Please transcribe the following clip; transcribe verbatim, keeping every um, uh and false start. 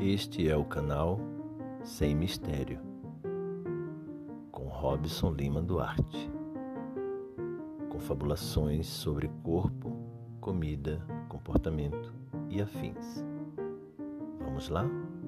Este é o canal Sem Mistério, com Robson Lima Duarte. Confabulações sobre corpo, comida, comportamento e afins. Vamos lá?